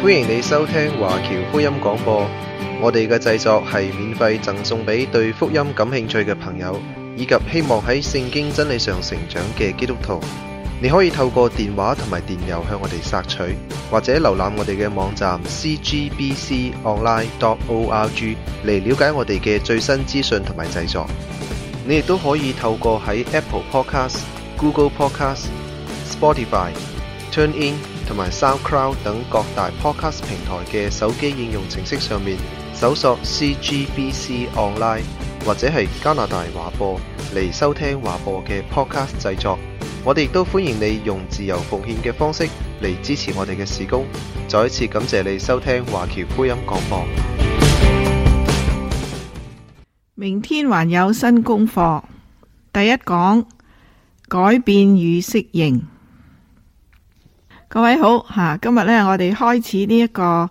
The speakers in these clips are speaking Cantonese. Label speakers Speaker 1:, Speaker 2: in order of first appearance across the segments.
Speaker 1: 歡迎你收聽華僑福音廣播。我哋嘅製作係免費贈送俾對福音感興趣嘅朋友，以及希望喺聖經真理上成長嘅基督徒。你可以透過電話同埋電郵向我哋索取，或者瀏覽我哋嘅網站 cgbconline.org 嚟了解我哋嘅最新資訊同埋製作。你亦都可以透過喺 Apple Podcast、Google Podcast、Spotify、TuneIn 同埋 SoundCloud 等各大 Podcast 平台嘅手機應用程式上面搜索 CGBC Online 或者係加拿大華播嚟收聽華播嘅 Podcast 製作。我哋亦都歡迎你用自由奉獻嘅方式嚟支持我哋嘅事工。再一次感謝你收聽華僑福音廣播。
Speaker 2: 明天還有新功課，第一講改變與適應。各位好，今日呢，我哋開始呢一個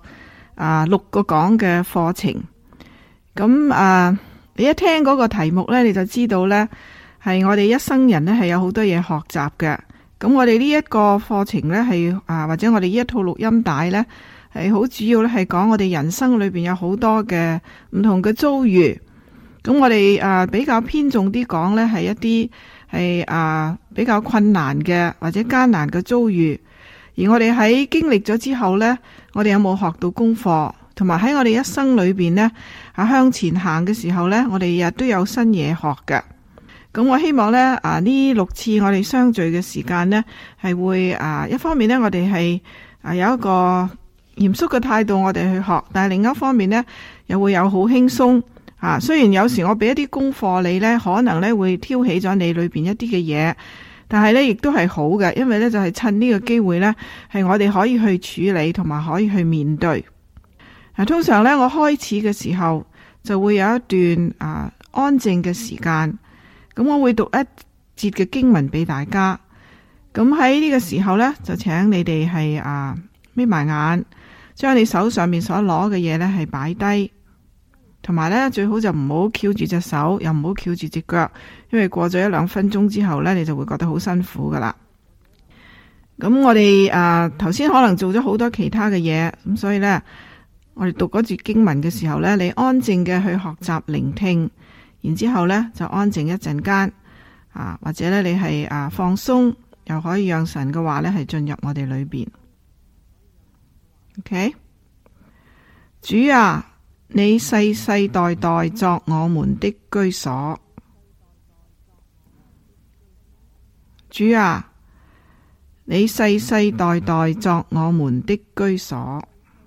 Speaker 2: 6個講嘅課程。咁你一聽嗰個題目呢，你就知道呢係我哋一生人呢係有好多嘢學習嘅。咁我哋呢一個課程呢係或者我哋呢一套錄音帶呢係好主要呢係講我哋人生裏邊有好多嘅唔同嘅遭遇。咁我哋比較偏重啲講呢係一啲係比較困難嘅或者艱難嘅遭遇。而我哋喺經歷咗之後呢，我哋有冇學到功課？同埋喺我哋一生裏邊呢，向前行嘅時候呢，我哋日都有新嘢學嘅。咁我希望呢呢6次我哋相聚嘅時間呢，係會一方面呢，我哋係有一個嚴肅嘅態度，我哋去學。但係另一方面呢，又會有好輕鬆。雖然有時我俾一啲功課你呢，可能呢會挑起咗你裏邊一啲嘅嘢。但係咧，亦都係好嘅，因為咧就係趁呢個機會咧，係我哋可以去處理同埋可以去面對。通常咧，我開始嘅時候就會有一段安靜嘅時間，咁我會讀一節嘅經文俾大家。咁喺呢個時候咧，就請你哋係眯埋眼，將你手上面所攞嘅嘢咧係擺低。同埋咧，最好就唔好翹住隻手，又唔好翹住隻腳，因為過咗1-2分鐘之後咧，你就會覺得好辛苦噶啦。咁我哋頭先可能做咗好多其他嘅嘢，咁所以咧，我哋讀嗰節經文嘅時候咧，你安靜嘅去學習聆聽，然之後咧就安靜一陣間，或者咧你係放鬆，又可以讓神嘅話咧係進入我哋裏邊。OK， 主啊，你世世代代作我們的居所。主啊，你世世代代作我們的居所。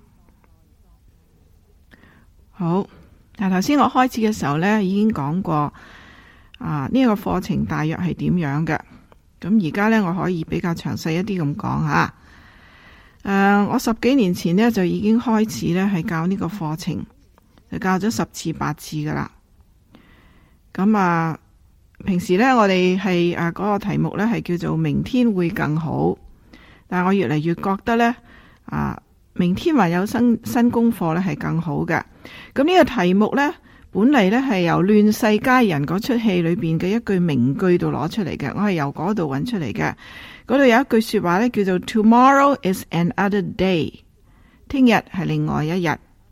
Speaker 2: 好，頭先我開始嘅時候呢，已經講過呢個課程大約係點樣嘅。咁而家呢，我可以比較詳細一啲咁講下。我10幾年前呢，就已經開始呢係教呢個課程。就教咗10次8次噶啦。咁平時呢，我哋係嗰個題目呢係叫做明天會更好。但係我越嚟越覺得呢，明天還有新功課呢係更好嘅。咁呢個題目呢，本嚟呢係由亂世佳人嗰出戲裏邊嘅一句名句度攞出嚟嘅。我係由嗰度揾出嚟嘅。嗰度有一句說話呢，叫做 Tomorrow is another day。聽日係另外一日。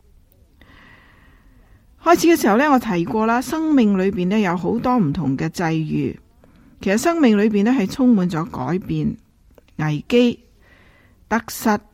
Speaker 2: 開始嘅時候呢，我提過啦，生命裏邊呢有好多唔同嘅際遇。其實生命裏邊呢係充滿咗改變、危機、得失。咁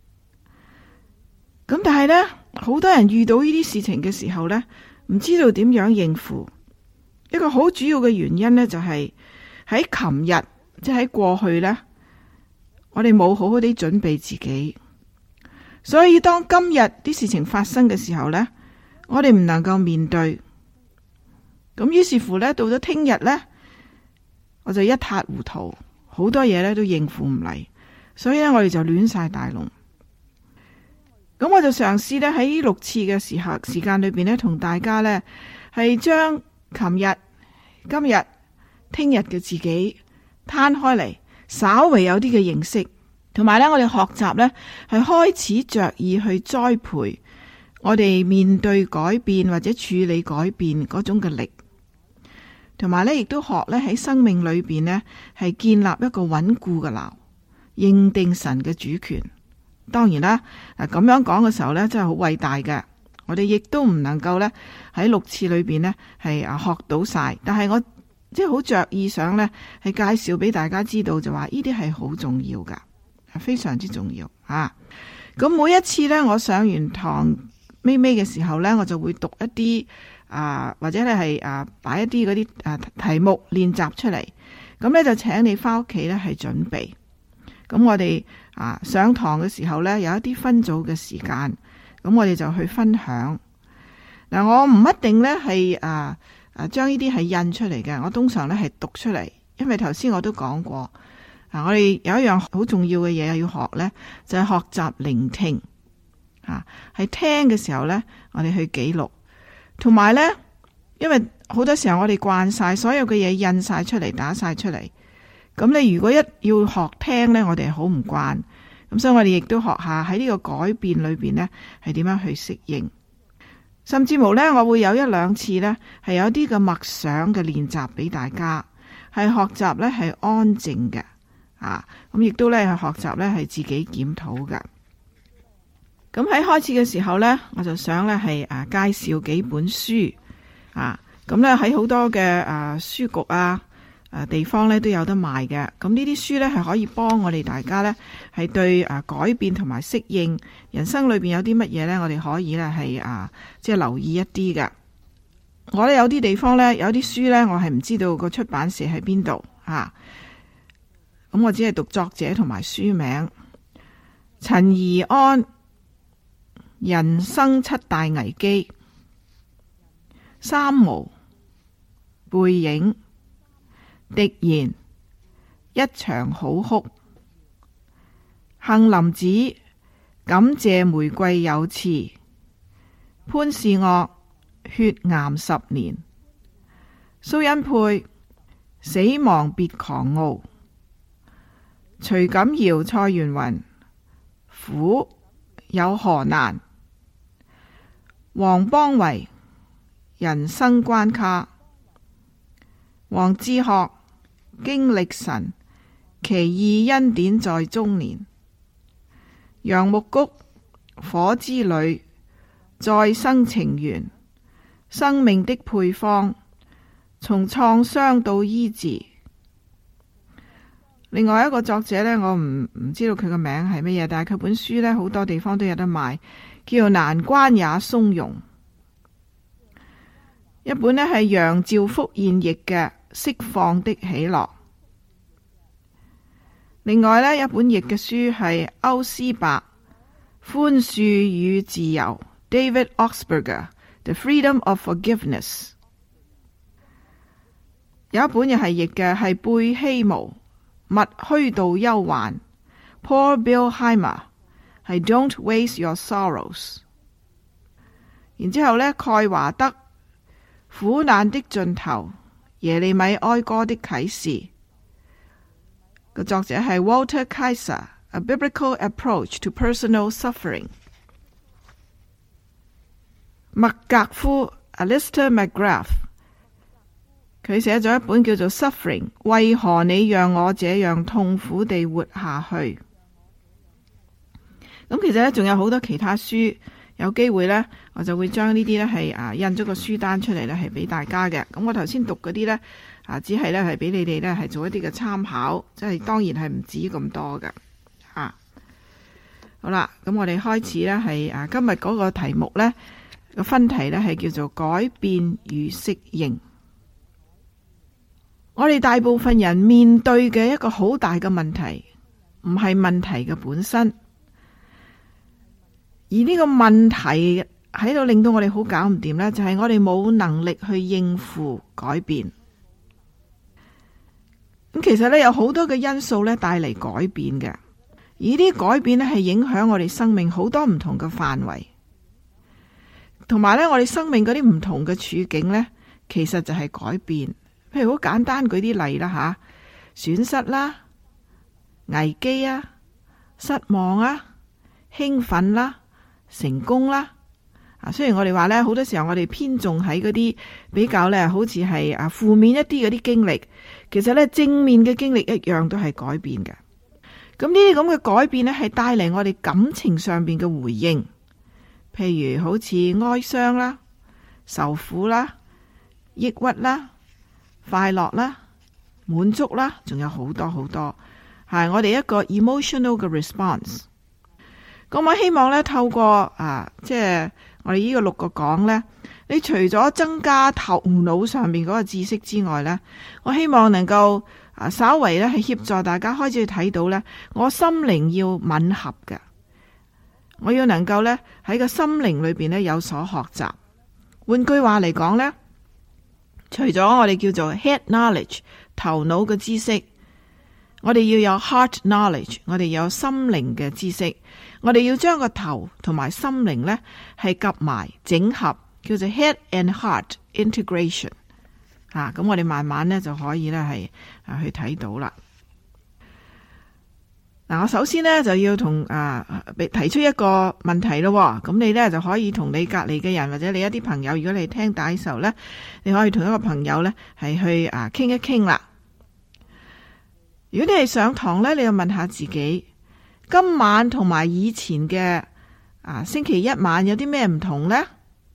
Speaker 2: 但係呢，好多人遇到呢啲事情嘅時候呢，唔知道點樣應付。一個好主要嘅原因呢，就係喺琴日，即係喺過去呢，我哋冇好好地準備自己。所以當今日啲事情發生嘅時候呢，我哋唔能夠面對，咁於是乎呢，到咗聽日呢，我就一塌糊塗，好多嘢呢都應付唔嚟，所以呢，我哋就亂晒大龍。咁我就嘗試呢，喺6次嘅時間裏邊呢，同大家呢係將琴日、今日、聽日嘅自己攤開嚟，稍微有啲嘅認識，同埋呢，我哋學習呢係開始着意去栽培我哋面對改變或者處理改變嗰種嘅力，同埋呢亦都學呢喺生命裏邊呢係建立一個穩固嘅錨，認定神嘅主權， 當然啦，咁樣講嘅時候呢，真係好偉大嘅。我哋亦都唔能夠呢喺6次裏邊呢係學到晒，但係我即係好着意想呢係介紹俾大家知道，就話呢啲係好重要噶，非常之重要啊！咁每一次呢，我上完堂尾嘅時候呢，我就會讀一啲或者咧係擺一啲嗰啲題目練習出嚟，咁呢，就請你翻屋企呢係準備。咁我哋上堂嘅時候呢，有一啲分組嘅時間，咁我哋就去分享。嗱，我唔一定呢係將呢啲係印出嚟嘅，我通常呢係讀出嚟，因為頭先我都講過，我哋有一樣好重要嘅嘢要學呢，就係學習聆聽，係聽嘅時候呢，我哋去記錄，同埋呢，因為好多時候我哋慣晒所有嘅嘢印晒出嚟，打晒出嚟。咁你如果一要學聽呢，我哋好唔慣，咁所以我哋亦都學下喺呢個改變裏邊呢係點樣去適應，甚至乎呢，我會有1-2次呢係有啲嘅默想嘅練習俾大家，係學習呢係安靜嘅，咁亦都呢係學習呢係自己檢討嘅。咁喺開始嘅時候呢，我就想呢係介紹幾本書，咁呢喺好多嘅書局地方咧都有得賣嘅，咁呢啲書咧係可以幫我哋大家咧係對改變同埋適應人生裏邊有啲乜嘢咧，我哋可以咧係即係留意一啲嘅。我咧有啲地方咧有啲書咧，我係唔知道個出版社喺邊度咁我只係讀作者同埋書名。陳怡安人生7大危機，三毛背影，狄然一場好哭，杏林子感謝玫瑰有刺，潘士岳血癌10年，蘇恩佩死亡別狂傲，徐錦堯蔡元雲苦有何難，黃邦維人生關卡，黃志學經歷神奇異恩典在中年，楊木谷火之旅再生情緣，生命的配方從創傷到醫治。另外一個作者呢，我唔知道佢個名係乜嘢，但係佢本書呢好多地方都有得賣，叫做難關也鬆容。一本呢係楊兆福現譯嘅釋放的喜樂。另外呢一本譯嘅書係歐斯伯寬恕與自由 David Augsburger The Freedom of Forgiveness。 有一本又係譯嘅係貝希姆勿虛度憂患 Paul Billheimer 係 Don't Waste Your Sorrows。 然之後呢蓋華德苦難的盡頭耶利米哀歌的啟示，個作者係 Walter Kaiser A Biblical Approach to Personal Suffering。 麥格夫 Alistair McGrath 佢寫咗一本叫做 Suffering 為何你讓我這樣痛苦地活下去。咁其實呢仲有好多其他書，有機會呢，我就會將呢啲呢係印咗個書單出嚟呢係俾大家嘅。咁我頭先讀嗰啲呢，只係呢係俾你哋呢係做一啲嘅參考，即係當然係唔止咁多嘅。好啦，咁我哋開始呢係今日嗰個題目呢，個分題呢係叫做改變與適應。我哋大部分人面對嘅一個好大嘅問題，唔係問題嘅本身。而呢個問題喺度令到我哋好搞唔掂呢，就係我哋冇能力去應付改變。咁其實呢，有好多嘅因素呢帶嚟改變嘅，而啲改變呢係影響我哋生命好多唔同嘅範圍，同埋呢，我哋生命嗰啲唔同嘅處境呢，其實就係改變。譬如好簡單舉啲例啦損失啦、危機啊、失望啊、興奮啦、成功啦。雖然我哋話呢，好多時候我哋偏重喺嗰啲比較呢，好似係負面一啲嗰啲經歷，其實呢，正面嘅經歷一樣都係改變嘅。 咁呢啲咁嘅改變呢，係帶嚟我哋感情上邊嘅回應，譬如好似哀傷啦、受苦啦、抑鬱啦、快樂啦、滿足啦，仲有好多好多，係我哋一個 emotional 嘅 response。咁我希望呢，透過即係我哋呢個6個講呢，你除咗增加頭腦上面嗰個知識之外呢，我希望能夠稍微呢係協助大家開始去睇到呢，我心靈要吻合嘅，我要能夠呢喺個心靈裏邊呢有所學習。換句話嚟講呢，除咗我哋叫做 head knowledge 頭腦嘅知識，我哋要有 heart knowledge， 我哋有心靈嘅知識，我哋要將個頭同埋心靈呢係夾埋整合，叫做 head and heart integration。咁我哋慢慢呢就可以呢係去睇到啦。我首先呢就要同提出一個問題咯。咁你呢就可以同你隔籬嘅人或者你一啲朋友，如果你聽帶嘅時候呢，你可以同一個朋友呢係去傾一傾啦。如果你係上堂呢，你就問下自己，今晚同埋以前嘅星期一晚有啲咩唔同呢？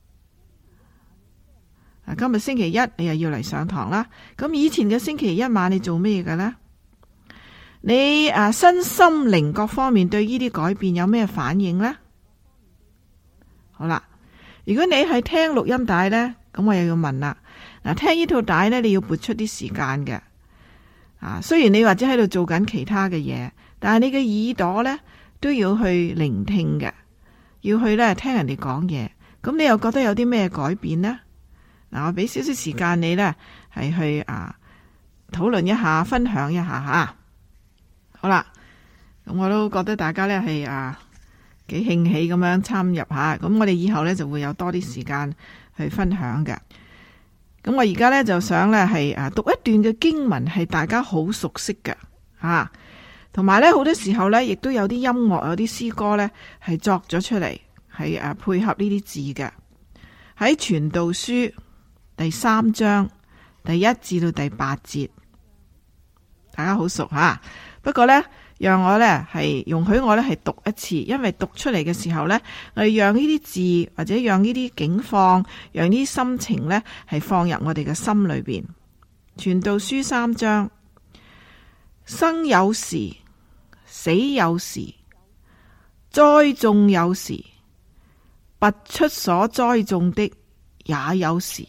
Speaker 2: 今日星期一你又要嚟上堂啦，咁以前嘅星期一晚你做咩嘅呢？你身心靈各方面對呢啲改變有咩反應呢？好啦，如果你係聽錄音帶呢，咁我又要問啦。聽呢套帶呢，你要撥出啲時間嘅。雖然你或者喺度做緊其他嘅嘢，但係你嘅耳朵呢都要去聆聽嘅，要去呢聽人哋講嘢。咁你又覺得有啲咩改變呢？我俾少少時間你呢係去討論一下，分享一下吓。好啦，咁我都覺得大家呢係幾興起咁樣參入下。咁我哋以後呢就會有多啲時間去分享嘅。咁我而家呢就想呢係讀一段嘅經文，係大家好熟悉嘅同埋呢好多時候呢亦都有啲音樂，有啲詩歌呢係作咗出嚟，係配合呢啲字嘅。喺傳道書第3章第1至到第8節，大家好熟吓。不過呢，讓我呢係容許我呢係讀一次，因為讀出嚟嘅時候呢，我哋讓呢啲字或者讓呢啲境況，讓呢啲心情呢係放入我哋嘅心裏邊。傳道書3章，生有時，死有時，栽種有時，拔出所栽種的也有時，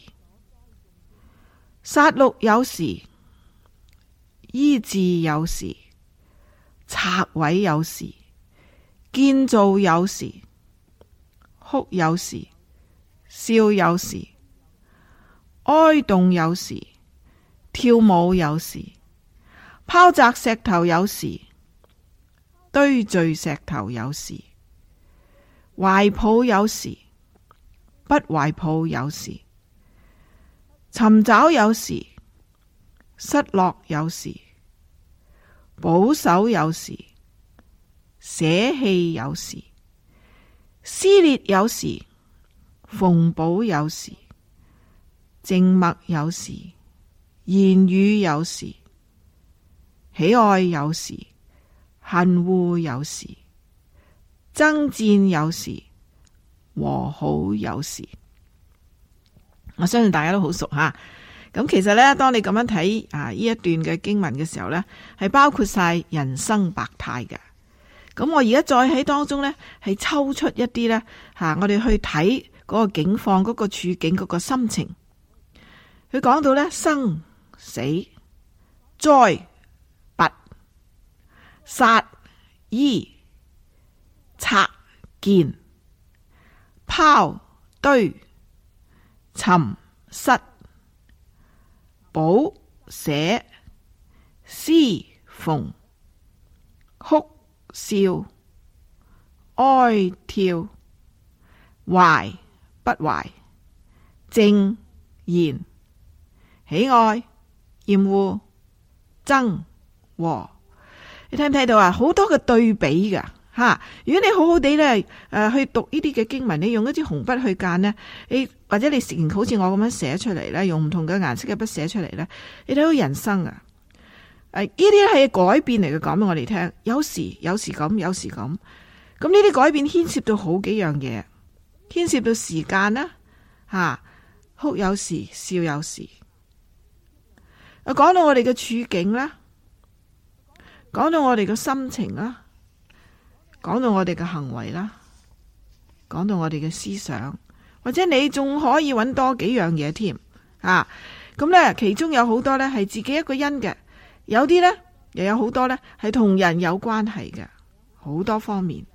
Speaker 2: 殺戮有時，醫治有時，拆毀有時，建造有時，哭有時，笑有時，哀慟有時，跳舞有時，拋擲石頭有時，堆聚石頭有時，懷抱有時，不懷抱有時，尋找有時，失落有時，保守有時，捨棄有時，撕裂有時，縫補有時，靜默有時，言語有時，喜愛有時，恨惡有時，爭戰有時，和好有時。我相信大家都好熟吓。咁其實呢，當你咁樣睇呢一段嘅經文嘅時候呢，係包括晒人生百態嘅。咁我而家再喺當中呢，係抽出一啲呢，我哋去睇嗰個境況、嗰個處境、嗰個心情。佢講到呢，生死、栽拔、殺醫、拆建、拋堆、尋失、補捨、撕縫、哭笑、哀跳、懷不懷、正言、喜愛、厭惡、憎和。你睇唔睇到啊？好多嘅對比噶吓。如果你好好地咧去讀呢啲嘅經文，你用一支紅筆去間呢，你或者你好似我咁樣寫出嚟咧，用唔同嘅顏色嘅筆寫出嚟咧，你睇到人生啊， 呢啲係改變嚟嘅，講俾我哋聽。有時咁，有時咁。咁呢啲改變牽涉到好幾樣嘢，牽涉到時間啦，哭有時，笑有時。講到我哋嘅處境啦，講到我哋嘅心情啦，講到我哋嘅行為啦，講到我哋嘅思想，或者你仲可以揾多幾樣嘢添。咁呢，其中有好多呢係自己一個因嘅，有啲呢又有好多呢係同人有關係嘅，好多方面。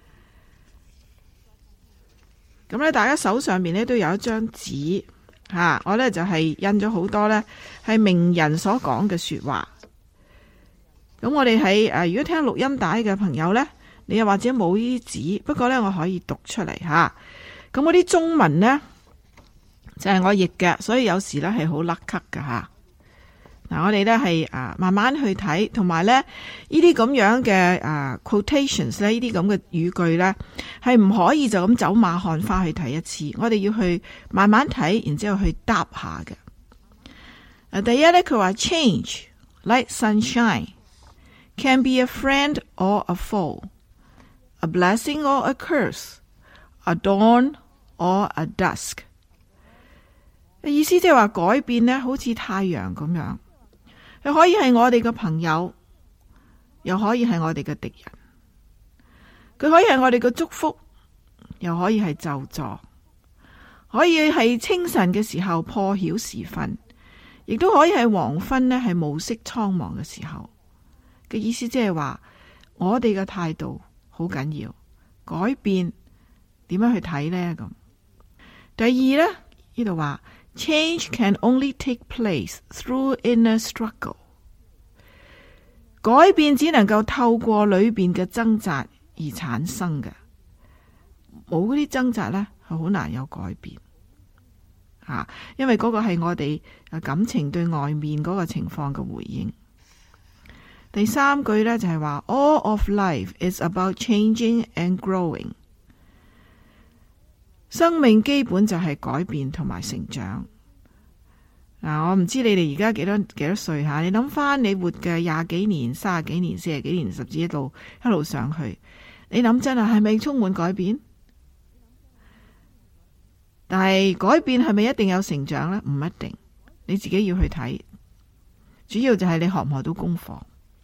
Speaker 2: 咁呢，大家手上面呢都有一張紙，我呢就係印咗好多呢係名人所講嘅說話。咁我哋喺如果聽錄音帶嘅朋友呢，你又或者冇呢啲紙，不過呢我可以讀出嚟吓。咁嗰啲中文呢，就係我譯嘅，所以有時呢係好甩咳㗎吓。我哋呢係慢慢去睇，同埋呢呢啲咁樣嘅quotations 呢，呢啲咁嘅語句呢，係唔可以就咁走馬看花去睇一次，我哋要去慢慢睇，然之後去答下嘅。第一呢，佢話 change like sunshine can be a friend or a foe, a blessing or a curse, a dawn or a dusk。意思即係話改變呢，好似太陽咁樣。佢可以係我哋嘅朋友，又可以係我哋嘅敵人。佢可以係我哋嘅祝福，又可以係咒詛。可以係清晨嘅時候破曉時分，亦都可以係黃昏呢，係暮色蒼茫嘅時候。嘅意思即係話，我哋嘅態度好緊要，改變點樣去睇呢？咁第二呢，呢度話。Change can only take place through inner struggle。改變只能夠透過裏邊嘅掙扎而產生嘅，冇嗰啲掙扎呢，係好難有改變。因為嗰個係我哋感情對外面嗰個情況嘅回應。第三句呢，就係話 All of life is about changing and growing。生命基本就係改變同埋成長。我唔知你哋而家幾多歲吓？你諗翻你活嘅20幾年、30幾年、40幾年，甚至一路上去，你諗真係咪充滿改變？但係改變係咪一定有成長呢？唔一定，你自己要去睇。主要就係你學唔學到功課。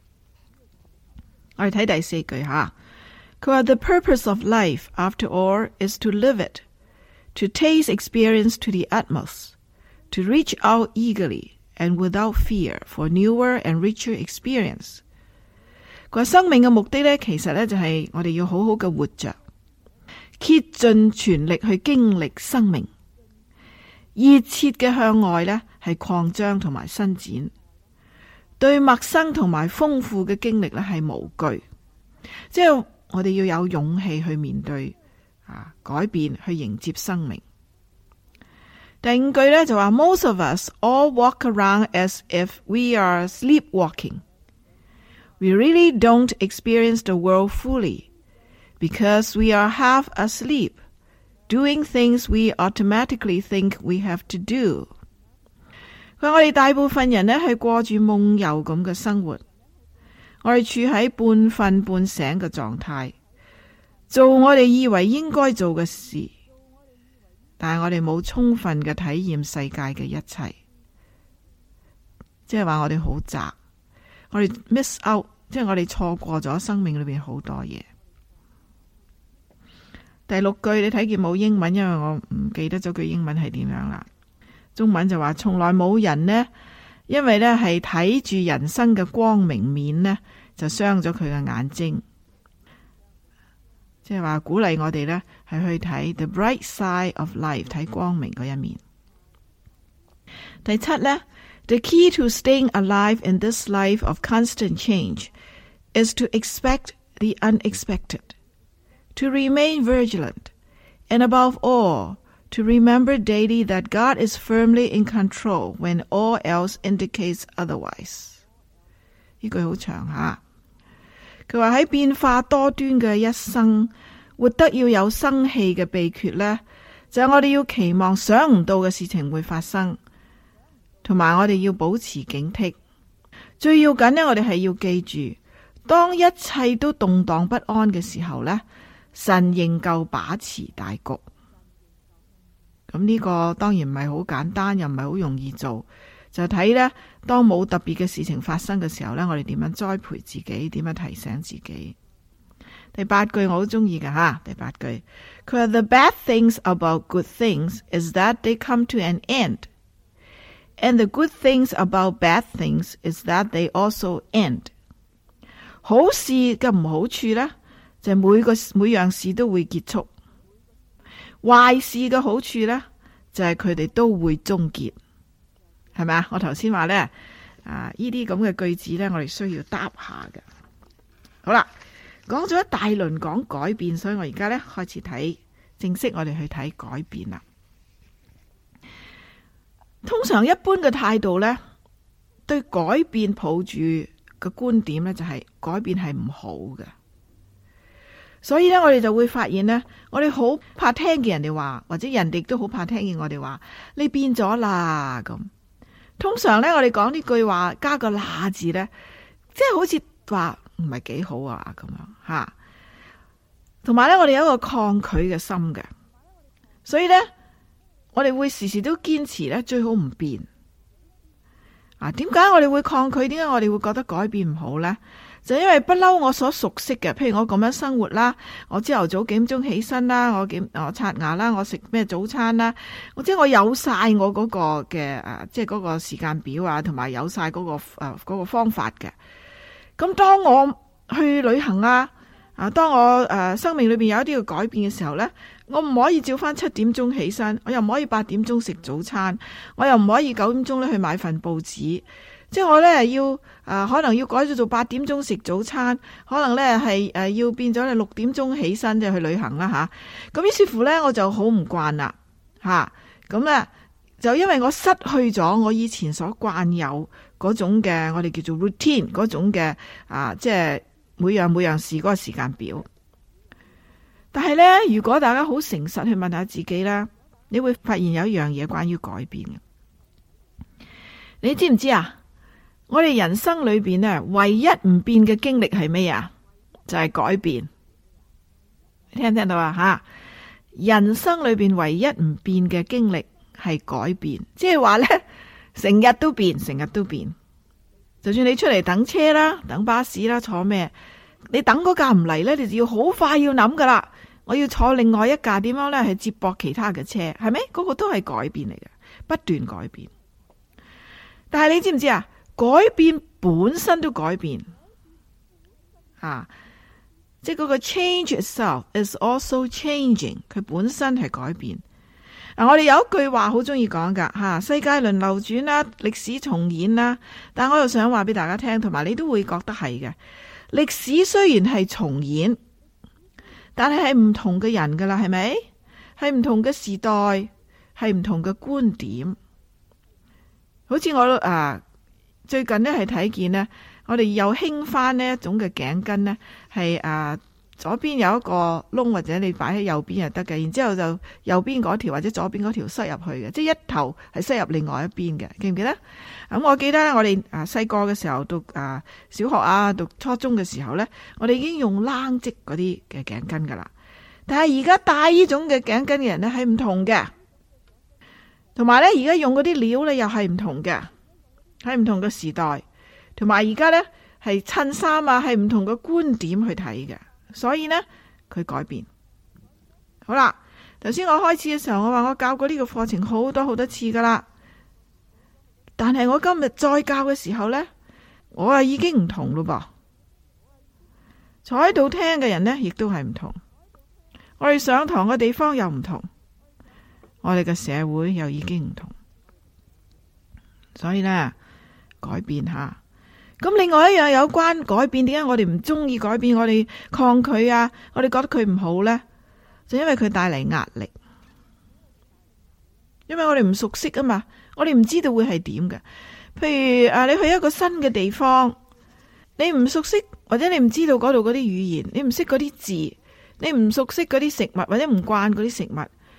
Speaker 2: 我哋睇第4句吓，佢話 The purpose of life, after all, is to live it, to taste experience to the utmost, to reach out eagerly and without fear for newer and richer experience。佢話生命嘅目的呢，其實呢就係我哋要好好嘅活着，竭盡全力去經歷生命，熱切嘅向外呢係擴張同埋伸展，對陌生同埋豐富嘅經歷呢係無懼，即係我哋要有勇氣去面對改變，去迎接生命。第5句呢就話 Most of us all walk around as if we are sleepwalking. We really don't experience the world fully because we are half asleep, doing things we automatically think we have to do. 佢話我哋大部分人呢係過住夢遊咁嘅生活，我哋處喺半瞓半醒嘅狀態，做我哋以為應該做嘅事。但係我哋冇充分嘅體驗世界嘅一切，即係話我哋好窄，我哋 miss out， 即係我哋錯過咗生命裏邊好多嘢。第6句你睇見冇英文，因為我唔記得咗句英文係點樣啦。中文就話從來冇人呢，因為呢係睇住人生嘅光明面呢，就傷咗佢嘅眼睛。即係話鼓勵我哋呢係去睇 the bright side of life， 睇光明嗰一面。第7呢 The key to staying alive in this life of constant change is to expect the unexpected, to remain vigilant, and above all, to remember daily that God is firmly in control when all else indicates otherwise。呢句好長吓。佢話喺變化多端嘅一生，活得要有生氣嘅秘訣呢，就係我哋要期望想唔到嘅事情會發生，同埋我哋要保持警惕， 最要緊呢，我哋係要記住，當一切都動盪不安嘅時候呢，神仍舊把持大局。咁呢個當然唔係好簡單，又唔係好容易做，就睇呢，當冇特別嘅事情發生嘅時候呢，我哋點樣栽培自己，點樣提醒自己。第8句我好中意㗎吓，第8句佢話 The bad things about good things is that they come to an end, and the good things about bad things is that they also end。 好事嘅唔好處呢，就係每樣事都會結束，壞事嘅好處呢，就係佢哋都會終結，係咪啊？我頭先話呢，呢啲咁嘅句子呢，我哋需要答下嘅。好啦，講咗一大輪講改變，所以我而家呢開始睇正式，我哋去睇改變啦。通常一般嘅態度呢，對改變抱住嘅觀點呢，就係改變係唔好嘅。所以呢，我哋就會發現呢，我哋好怕聽見人哋話，或者人哋都好怕聽見我哋話你變咗啦咁。通常呢，我哋講呢句話加個啦字呢，即係好似話唔係幾好啊咁樣吓。同埋呢，我哋有一個抗拒嘅心嘅，所以呢，我哋會時時都堅持呢，最好唔變。點解我哋會抗拒？點解我哋會覺得改變唔好呢？就因為不嬲我所熟悉嘅，譬如我咁樣生活啦，我朝頭早幾點鐘起身啦，我刷牙啦，我食咩早餐啦，即係我有晒我嗰個嘅即係嗰個時間表啊，同埋有晒嗰個方法嘅。咁當我去旅行當我生命裏邊有一啲嘅改變嘅時候呢，我唔可以照翻7點鐘起身，我又唔可以8點鐘食早餐，我又唔可以9點鐘咧去買份報紙。即係我呢要可能要改咗做8點鐘食早餐，可能呢係要變咗6點鐘起身即係去旅行啦吓。咁於是乎呢，我就好唔慣啦吓。咁呢，就因為我失去咗我以前所慣有嗰種嘅我哋叫做 routine 嗰種嘅即係每樣事嗰個時間表。但係呢，如果大家好誠實去問下自己呢，你會發現有一樣嘢關於改變嘅。你知唔知啊？我哋人生裏邊呢，唯一唔變嘅經歷係咩啊？就係改變。你聽唔聽到啊？吓，人生裏邊唯一唔變嘅經歷係改變，即係話呢，成日都變，成日都變。就算你出嚟等車啦、等巴士啦、坐咩，你等嗰架唔嚟呢，你就要好快要諗噶啦。我要坐另外一架，點樣呢？係接駁其他嘅車，係咪？嗰個都係改變嚟嘅，不斷改變。但係你知唔知啊？改變本身都改變，即係嗰個 change itself is also changing， 佢本身係改變。我哋有一句話好中意講噶，世界輪流轉啦，歷史重演啦。但我又想話俾大家聽，同埋你都會覺得係嘅。歷史雖然係重演，但係唔同嘅人噶啦，係咪？係唔同嘅時代，係唔同嘅觀點。好似我最近呢係睇見呢，我哋又興翻呢一種嘅頸巾呢，係左邊有一個窿，或者你擺喺右邊就得嘅，然之後就右邊嗰條或者左邊嗰條塞入去嘅，即係一頭係塞入另外一邊嘅，記唔記得？咁我記得呢，我哋細個嘅時候讀小學讀初中嘅時候呢，我哋已經用冷織嗰啲嘅頸巾噶啦。但係而家戴呢種嘅頸巾嘅人呢係唔同嘅，同埋呢而家用嗰啲料呢又係唔同嘅。喺唔同嘅時代，同埋而家呢係襯衫係唔同嘅觀點去睇嘅，所以呢，佢改變。好啦，頭先我開始嘅時候，我話我教過呢個課程好多次噶啦，但係我今日再教嘅時候呢，我已經唔同咯噃。坐喺度聽嘅人呢，亦都係唔同。我哋上堂嘅地方又唔同，我哋嘅社會又已經唔同，所以呢。改變下，咁另外一樣有關改變，點解我哋唔中意改變，我哋抗拒我哋覺得佢唔好呢？就因為佢帶嚟壓力，因為我哋唔熟悉啊嘛，我哋唔知道會係點嘅。譬如你去一個新嘅地方，你唔熟悉或者你唔知道嗰度嗰啲語言，你唔識嗰啲字，你唔熟悉嗰啲食物或者唔慣嗰啲食物，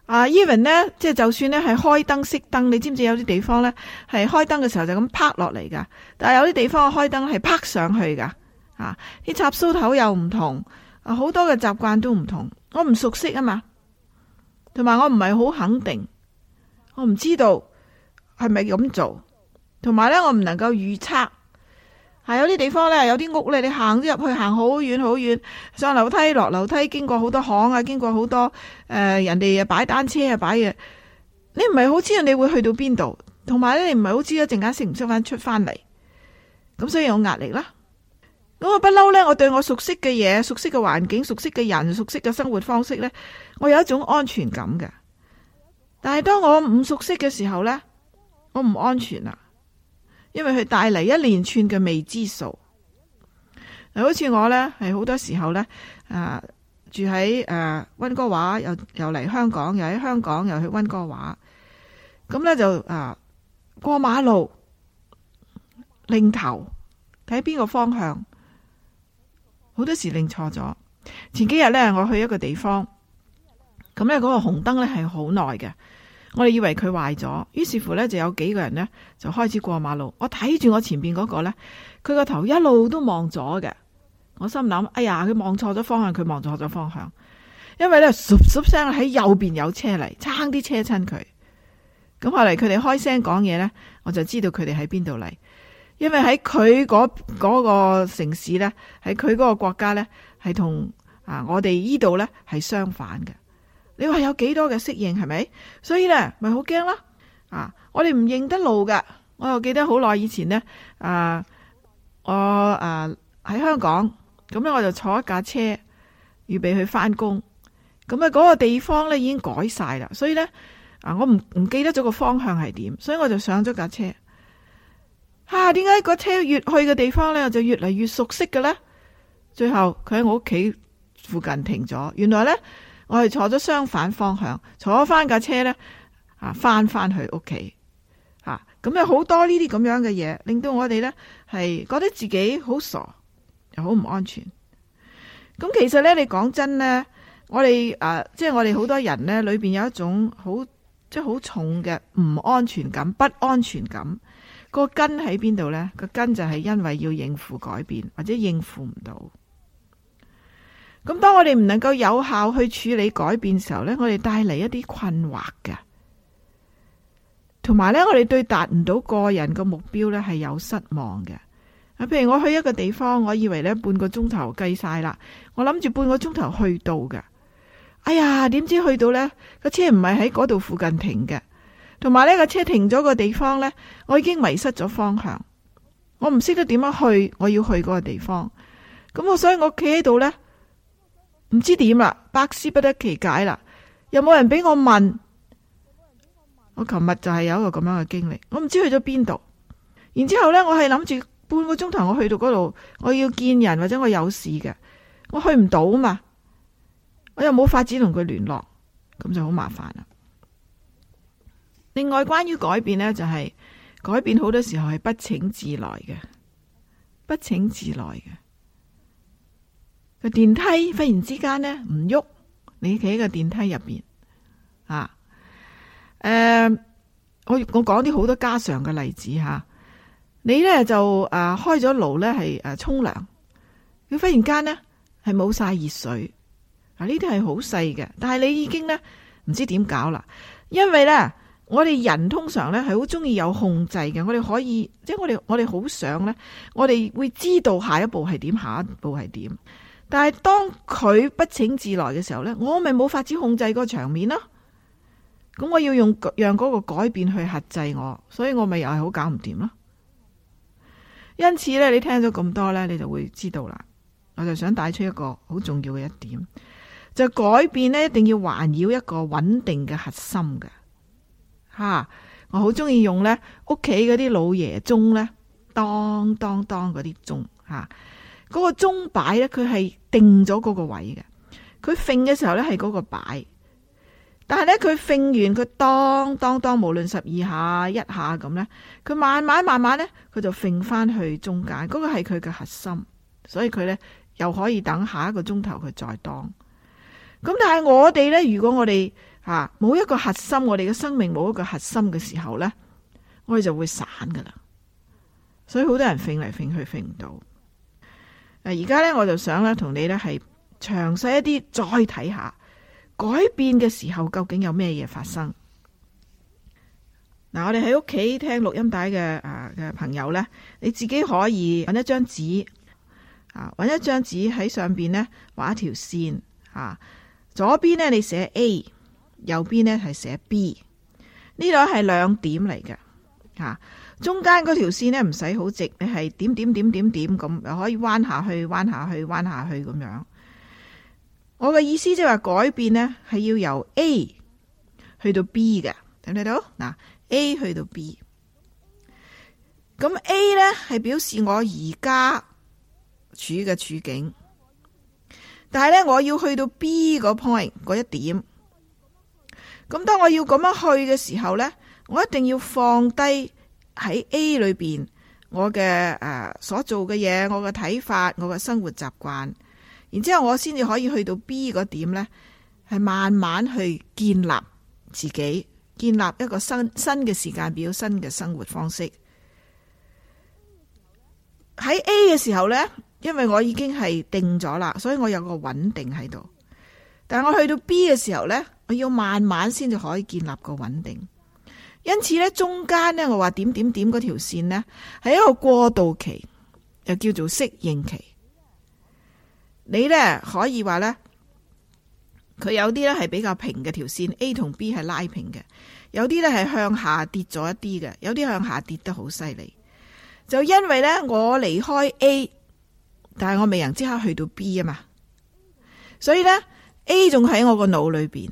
Speaker 2: even 咧，即係就算咧係開燈熄燈，你知唔知有啲地方咧係開燈嘅時候就咁拍落嚟噶，但係有啲地方開燈係拍上去噶。啲插蘇頭又唔同，好多嘅習慣都唔同，我唔熟悉啊嘛，同埋我唔係好肯定，我唔知道係咪咁做，同埋咧我唔能夠預測。有啲地方咧，有啲屋咧，你行咗入去，行好遠好遠，上樓梯落樓梯，經過好多巷啊，經過好多人哋擺單車啊，擺嘢，你唔係好知道你會去到邊度，同埋咧你唔係好知一陣間識唔識翻出翻嚟，咁所以有壓力啦。咁我不嬲咧，我對我熟悉嘅嘢、熟悉嘅環境、熟悉嘅人、熟悉嘅生活方式咧，我有一種安全感嘅。但係當我唔熟悉嘅時候咧，我唔安全啦。因為佢帶嚟一連串嘅未知數，好似我呢，係好多時候呢，住喺溫哥華，又嚟香港，又喺香港又去溫哥華，咁呢，就過馬路擰頭睇邊個方向，好多時擰錯咗。前幾日呢，我去一個地方，咁呢，嗰個紅燈呢係好耐嘅。我哋以為佢壞咗，於是乎呢就有幾個人呢就開始過馬路。我睇住我前邊嗰個呢，佢個頭一路都望咗嘅。我心諗，哎呀，佢望錯咗方向，佢望錯咗方向。因為呢，唰唰聲喺右邊有車嚟，差啲車親佢。咁後嚟佢哋開聲講嘢呢，我就知道佢哋喺邊度嚟。因為喺佢嗰個城市呢，喺佢嗰個國家呢，係同我哋呢度呢係相反嘅。你話有幾多嘅適應係咪？所以咧咪好驚啦！我哋唔認得路噶。我又記得好耐以前呢，我喺香港，咁咧我就坐一架車預備去翻工。咁嗰個地方咧已經改晒啦，所以咧我唔記得咗個方向係點，所以我就上咗架車。點解個車越去嘅地方咧就越嚟越熟悉嘅咧？最後佢喺我屋企附近停咗。原來咧。我係坐咗相反方向，坐翻架車呢，翻去屋企，咁有好多呢啲咁樣嘅嘢，令到我哋呢係覺得自己好傻，又好唔安全。咁其實呢，你講真呢，我哋即係我哋好多人呢，裏邊有一種即係好重嘅唔安全感、不安全感。個根喺邊度呢？個根就係因為要應付改變，或者應付唔到。咁當我哋唔能夠有效去處理改變嘅時候呢，我哋帶嚟一啲困惑嘅，同埋呢，我哋對達唔到個人個目標呢係有失望嘅。譬如我去一個地方，我以為呢半個鐘頭計晒啦，我諗住半個鐘頭去到嘅，哎呀，點知去到呢個車唔係喺嗰度附近停嘅，同埋呢個車停咗個地方呢，我已經迷失咗方向，我唔識得點樣去我要去嗰個地方，咁所以我企喺度呢。唔知點啦，百思不得其解啦，又冇人俾我問。我琴日就係有一個咁樣嘅經歷，我唔知去咗邊度。然之後呢，我係諗住半個鐘頭我去到嗰度，我要見人或者我有事嘅，我去唔到嘛，我又冇法子同佢聯絡，咁就好麻煩啦。另外，關於改變呢，就係改變好多時候係不請自來嘅，不請自來嘅。個電梯忽然之間呢唔喐，你企喺個電梯入邊我講啲好多家常嘅例子吓，你呢就開咗爐呢係沖涼，佢忽然間呢係冇晒熱水，呢啲係好細嘅，但係你已經呢唔知點搞啦，因為呢我哋人通常呢係好中意有控制嘅，我哋可以即係我哋好想呢，我哋會知道下一步係點，下一步係點。但係當佢不請自來嘅時候呢，我咪冇法子控制個場面咯。咁我要讓嗰個改變去轄制我，所以我咪又係好搞唔掂咯。因此呢，你聽咗咁多呢，你就會知道啦。我就想帶出一個好重要嘅一點，就改變呢一定要環繞一個穩定嘅核心嘅。我好中意用呢屋企嗰啲老爺鐘呢，當當當嗰啲鐘嗰個鐘擺咧，佢係定咗嗰個位嘅。佢揈嘅時候咧係嗰個擺，但係咧佢揈完佢當當當，無論12下1下咁咧，佢慢慢咧，佢就揈翻去中間。嗰個係佢嘅核心，所以佢咧又可以等下一個鐘頭佢再當。咁但係我哋咧，如果我哋冇一個核心，我哋嘅生命冇一個核心嘅時候呢，我哋就會散噶啦。所以好多人揈嚟揈去揈唔到。而家呢，我就想咧同你呢係詳細一啲再睇下改變嘅時候究竟有咩嘢發生。我哋喺屋企聽錄音帶嘅朋友呢，你自己可以揾一張紙揾一張紙喺上邊呢畫一條線左邊呢你寫 A， 右邊呢係寫 B， 呢度係兩點嚟嘅中間嗰條線呢唔使好直，你係點點點點點咁，又可以彎下去彎下去彎下去咁樣。我嘅意思即係話改變呢係要由 A 去到 B 嘅，睇唔睇到？A 去到 B， 咁 A 呢係表示我而家處嘅處境，但係呢，我要去到 B 個 point 嗰一點。咁當我要咁樣去嘅時候呢，我一定要放低喺 A 裏邊我嘅所做嘅嘢，我嘅睇法，我嘅生活習慣，然之後我先至可以去到 B 個點呢，係慢慢去建立自己。建立一個新嘅時間表，新嘅生活方式。喺 A 嘅時候呢，因為我已經係定咗啦，所以我有個穩定喺度。但係我去到 B 嘅時候呢，我要慢慢先至可以建立個穩定。因此呢，中間呢，我話點點點嗰條線呢，係一個過渡期，又叫做適應期。你呢，可以話呢，佢有啲咧係比較平嘅條線 A 同 B 係拉平嘅，有啲咧係向下跌咗一啲嘅，有啲向下跌得好犀利。就因為咧我離開 A， 但係我未能即刻去到 B 啊嘛，所以咧 A 仲喺我個腦裏邊，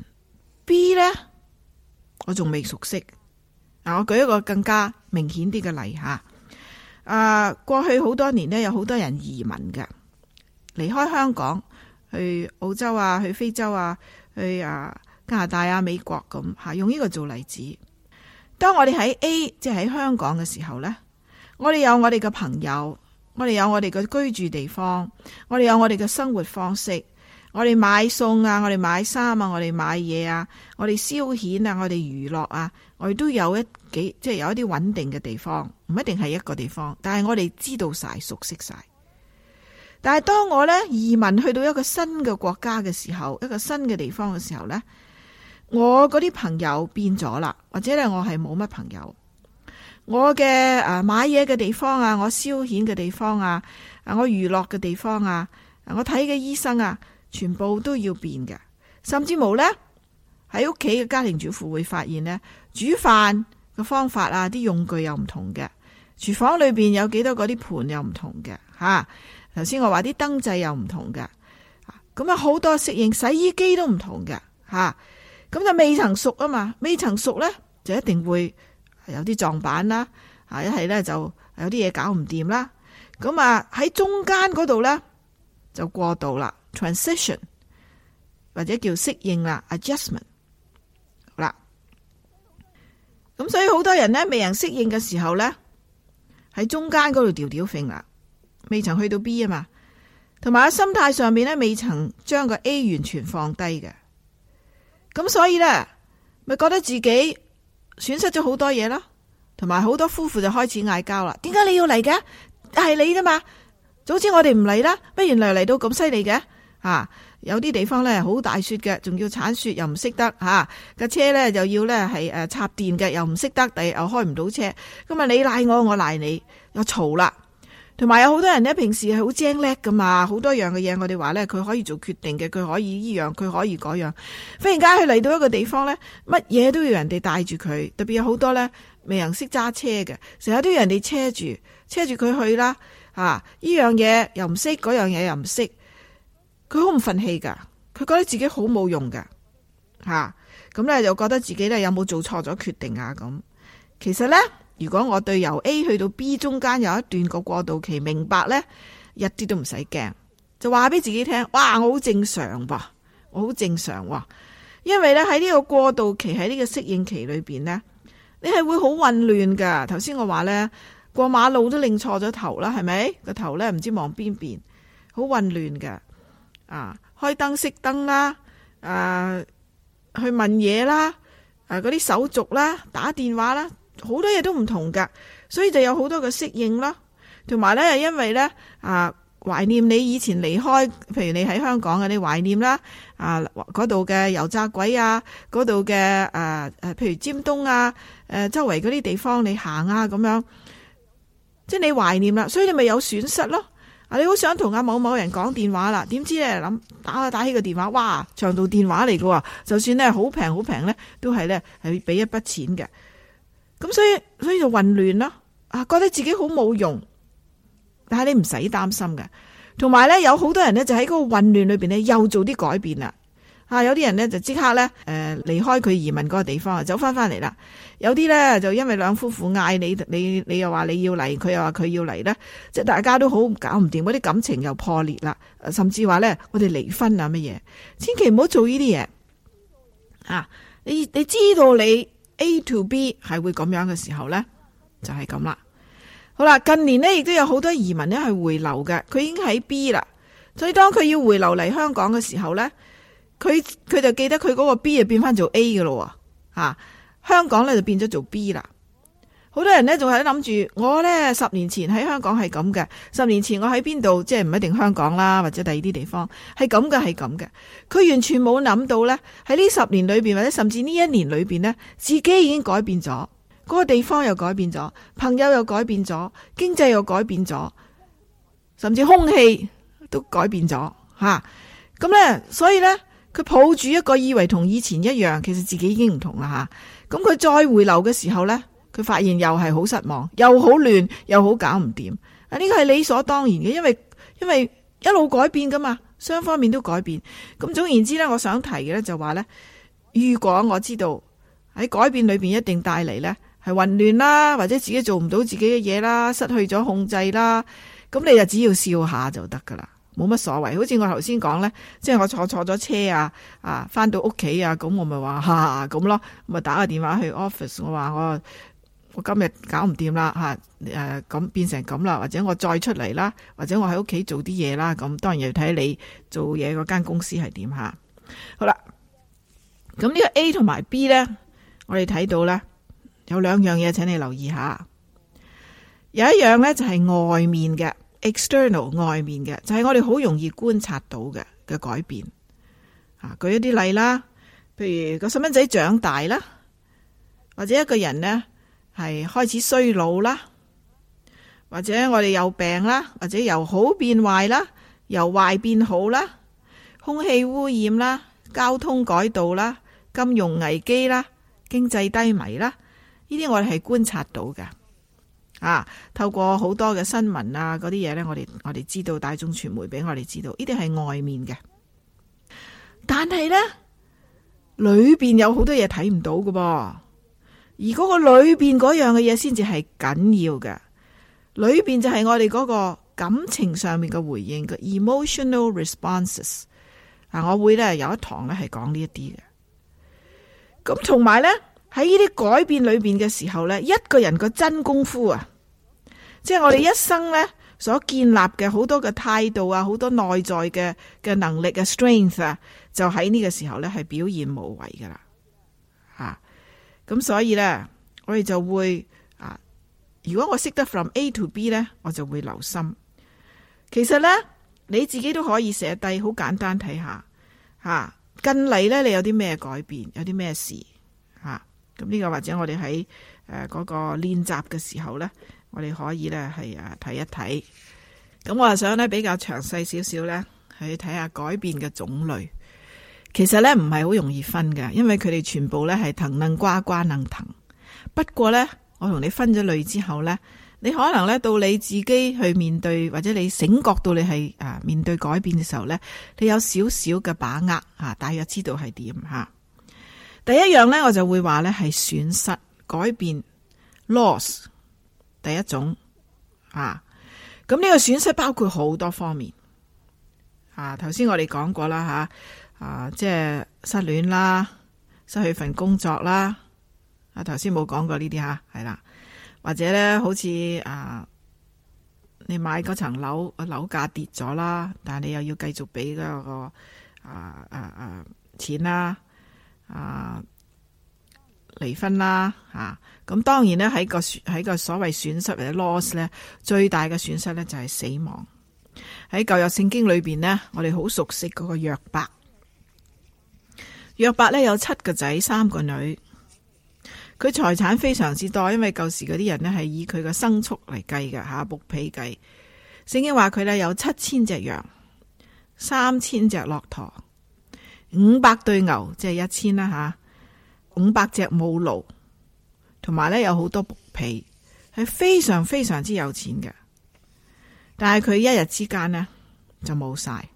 Speaker 2: B 咧我仲未熟悉。我舉一個更加明顯啲嘅例吓，過去好多年呢，有好多人移民嘅，離開香港。去澳洲啊，去非洲啊，去加拿大啊，美國咁吓，用呢個做例子。當我哋喺 A， 即係喺香港嘅時候呢，我哋有我哋嘅朋友，我哋有我哋嘅居住地方，我哋有我哋嘅生活方式，我哋買餸啊，我哋買衫啊，我哋買嘢啊，我哋消遣啊，我哋娛樂啊，我哋都有即係有一啲穩定嘅地方，唔一定係一個地方，但係我哋知道晒，熟悉晒。但係當我咧移民去到一個新嘅國家嘅時候，一個新嘅地方嘅時候呢，我嗰啲朋友變咗啦，或者咧我係冇乜朋友，我嘅買嘢嘅地方啊，我消遣嘅地方啊，我娛樂嘅地方啊，我睇嘅醫生啊，全部都要變嘅。甚至無呢，喺屋企嘅家庭主婦會發現呢，煮飯嘅方法啊，啲用具又唔同嘅，廚房裏邊有幾多嗰啲盤又唔同嘅吓。頭先我話啲燈掣又唔同嘅，咁啊好多適應，洗衣機都唔同嘅吓，咁就未曾熟啊嘛，未曾熟呢，就一定會有啲撞板啦，一係呢就有啲嘢搞唔掂啦，咁啊喺中間嗰度呢，就過渡啦 ，transition 或者叫適應啦 ，adjustment 好啦，咁所以好多人呢，未能適應嘅時候呢，喺中間嗰度吊吊揈啦。未曾去到 B 啊嘛，同埋喺心態上面咧，未曾將個 A 完全放低嘅，咁所以咧，咪覺得自己損失咗好多嘢咯，同埋好多夫婦就開始嗌交啦。點解你要嚟嘅？係你啫嘛，早知我哋唔嚟啦，乜原來嚟到咁犀利嘅？有啲地方咧好大雪嘅，仲要鏟雪又唔識得架車咧就要咧係插電嘅，又唔識得，第日又開唔到車，咁啊你賴我，我賴你，又嘈啦。同埋有好多人咧，平時係好精叻噶嘛，好多樣嘅嘢，我哋話咧，佢可以做決定嘅，佢可以依樣，佢可以嗰樣。忽然間佢嚟到一個地方咧，乜嘢都要人哋帶住佢，特別有好多咧未能識揸車嘅，成日都要人哋車住佢去啦。依樣嘢又唔識，嗰樣嘢又唔識，佢好唔忿氣噶，佢覺得自己好冇用噶，咁咧就覺得自己咧有冇做錯咗決定啊咁。其實咧。如果我對由 A 去到 B 中間有一段個過渡期，明白呢，一啲都唔使驚，就話俾自己聽，哇，我好正常噃，我好正常喎。因為呢，喺呢個過渡期，喺呢個適應期裏邊呢，你係會好混亂噶。頭先我話呢，過馬路都擰錯咗頭啦，係咪？個頭呢唔知望邊邊，好混亂噶。開燈熄燈啦， 去問嘢啦，嗰啲手續啦，打電話啦，好多嘢都唔同噶，所以就有好多嘅適應啦。同埋咧，因為咧懷念你以前離開，譬如你喺香港嘅，你懷念啦嗰度嘅油炸鬼啊，嗰度嘅譬如尖東啊，周圍嗰啲地方你行啊咁樣，即係你懷念啦，所以你咪有損失咯。你好想同阿某某人講電話啦，點知咧打起個電話，哇，長途電話嚟嘅，就算咧好平好平咧，都係咧係俾一筆錢嘅。咁所以就混亂啦，覺得自己好冇用。但係你唔使擔心嘅，同埋咧有好多人咧就喺嗰個混亂裏邊咧又做啲改變啦。有啲人咧就即刻咧離開佢移民嗰個地方，走翻嚟啦。有啲咧就因為兩夫婦嗌你又話你要嚟，佢又話佢要嚟咧，即係大家都好搞唔掂，嗰啲感情又破裂啦，甚至話咧我哋離婚啊乜嘢，千祈唔好做呢啲嘢。你知道你 A to B 係會咁樣嘅時候咧，就係咁啦。好啦，近年呢亦都有好多移民呢係回流嘅，佢已經喺 B 啦，所以當佢要回流嚟香港嘅時候呢，佢就記得佢嗰個 B 就變翻做 A 嘅咯，香港呢就變咗做 B 啦。好多人呢仲係諗住，我呢10年前喺香港係咁嘅，10年前我喺邊度，即係唔一定香港啦，或者第二啲地方係咁嘅，係咁嘅。佢完全冇諗到呢，喺呢10年裏邊，或者甚至呢1年裏邊呢，自己已經改變咗。嗰個地方又改變咗，朋友又改變咗，經濟又改變咗，甚至空氣都改變咗吓。咁咧，所以咧，佢抱住一個以為同以前一樣，其實自己已經唔同啦吓。咁佢再回流嘅時候咧，佢發現又係好失望，又好亂，又好搞唔掂。呢個係理所當然嘅，因為一路改變噶嘛，雙方面都改變。咁總言之咧，我想提嘅咧就話咧，如果我知道喺改變裏邊一定帶嚟咧。係混亂啦，或者自己做唔到自己嘅嘢啦，失去咗控制啦，咁你就只要笑下就得噶啦，冇乜所謂。好似我頭先講咧，即係我坐咗車翻到屋企啊，咁我咪話咁咯，咪打個電話去 office， 我話我今日搞唔掂啦咁變成咁啦，或者我再出嚟啦，或者我喺屋企做啲嘢啦，咁當然要睇你做嘢嗰間公司係點吓。好啦，咁呢個 A 同埋 B 咧，我哋睇到咧。有兩樣嘢請你留意下，有一樣咧就係外面嘅 external 外面嘅，就係我哋好容易觀察到嘅改變。舉一啲例啦，譬如個細蚊仔長大啦，或者一個人呢係開始衰老啦，或者我哋有病啦，或者由好變壞啦，由壞變好啦，空氣污染啦，交通改道啦，金融危機啦，經濟低迷啦。呢啲我哋係觀察到嘅，透過好多嘅新聞啊嗰啲嘢咧，我哋知道，大眾傳媒俾我哋知道，呢啲係外面嘅。但係咧，裏邊有好多嘢睇唔到㗎噃，而嗰個裏邊嗰樣嘅嘢先至係緊要嘅。裏邊就係我哋嗰個感情上面嘅回應嘅 emotional responses。我會咧有一堂咧係講呢一啲嘅。咁同埋咧。喺呢啲改變裏邊嘅時候呢，一個人個真功夫即係我哋一生呢所建立嘅好多嘅態度好多內在嘅能力嘅 strength 就喺呢個時候呢係表現無遺噶啦。咁所以呢，我哋就會如果我識得 from A to B 呢，我就會留心。其實呢，你自己都可以寫低，好簡單睇下近嚟呢，你有啲咩改變，有啲咩事咁呢個或者我哋喺嗰個練習嘅時候呢，我哋可以呢係睇一睇。咁我係想呢比較詳細少少呢，去睇下改變嘅種類。其實呢唔係好容易分嘅，因為佢哋全部呢係藤嫩瓜瓜嫩藤。不過呢，我同你分咗類之後呢，你可能呢到你自己去面對，或者你醒覺到你係面對改變嘅時候呢，你有少少嘅把握大約知道係點吓。第一樣呢，我就會話呢係損失改變 loss 第一種咁呢個損失包括好多方面頭先我哋講過啦即係失戀啦，失去份工作啦頭先冇講過呢啲係啦，或者呢好似你買嗰層樓樓價跌咗啦，但係你又要繼續俾嗰個錢啦離婚啦咁當然咧喺個所謂損失或者 loss 咧，最大嘅損失咧就係死亡。喺舊約聖經裏邊呢，我哋好熟悉嗰個約伯。約伯咧有7個仔3個女，佢財產非常之多，因為舊時嗰啲人呢係以佢嘅牲畜嚟計嘅牧皮計。聖經話佢咧有7000隻羊，3000隻駱駝，500對牛，即係1000啦500隻母驢，同埋咧有好多牧皮，係非常非常之有錢嘅。但係佢一日之間呢，就冇晒，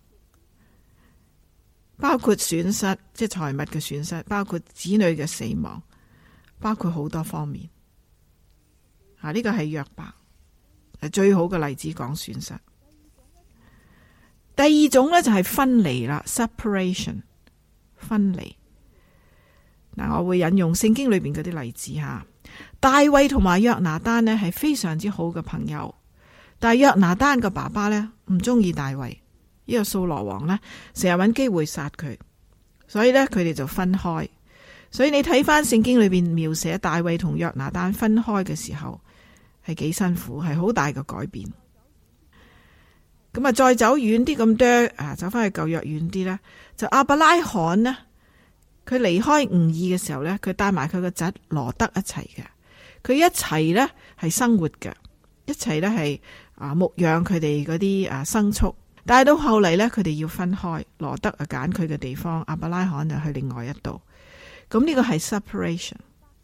Speaker 2: 包括損失，即係財物嘅損失，包括子女嘅死亡，包括好多方面。呢個係約伯，係最好嘅例子講損失。第二種呢，就係分離啦 ，separation， 分離。我會引用聖經裏邊嗰啲例子吓。大衛同埋約拿單呢係非常之好嘅朋友，但係約拿單嘅爸爸呢唔中意大衛，呢個掃羅王呢成日揾機會殺佢，所以呢，佢哋就分開。所以你睇翻聖經裏邊描寫大衛同約拿單分開嘅時候係幾辛苦，係好大嘅改變。咁啊，再走遠啲咁多走翻去舊約遠啲呢，就亞伯拉罕呢，佢離開吾珥嘅時候呢，佢帶埋佢個侄羅德一齊嘅，佢一齊呢係生活嘅，一齊呢係牧養佢哋嗰啲牲畜。但係到後嚟呢，佢哋要分開，羅德揀佢嘅地方，亞伯拉罕就去另外一度。咁呢個係 separation。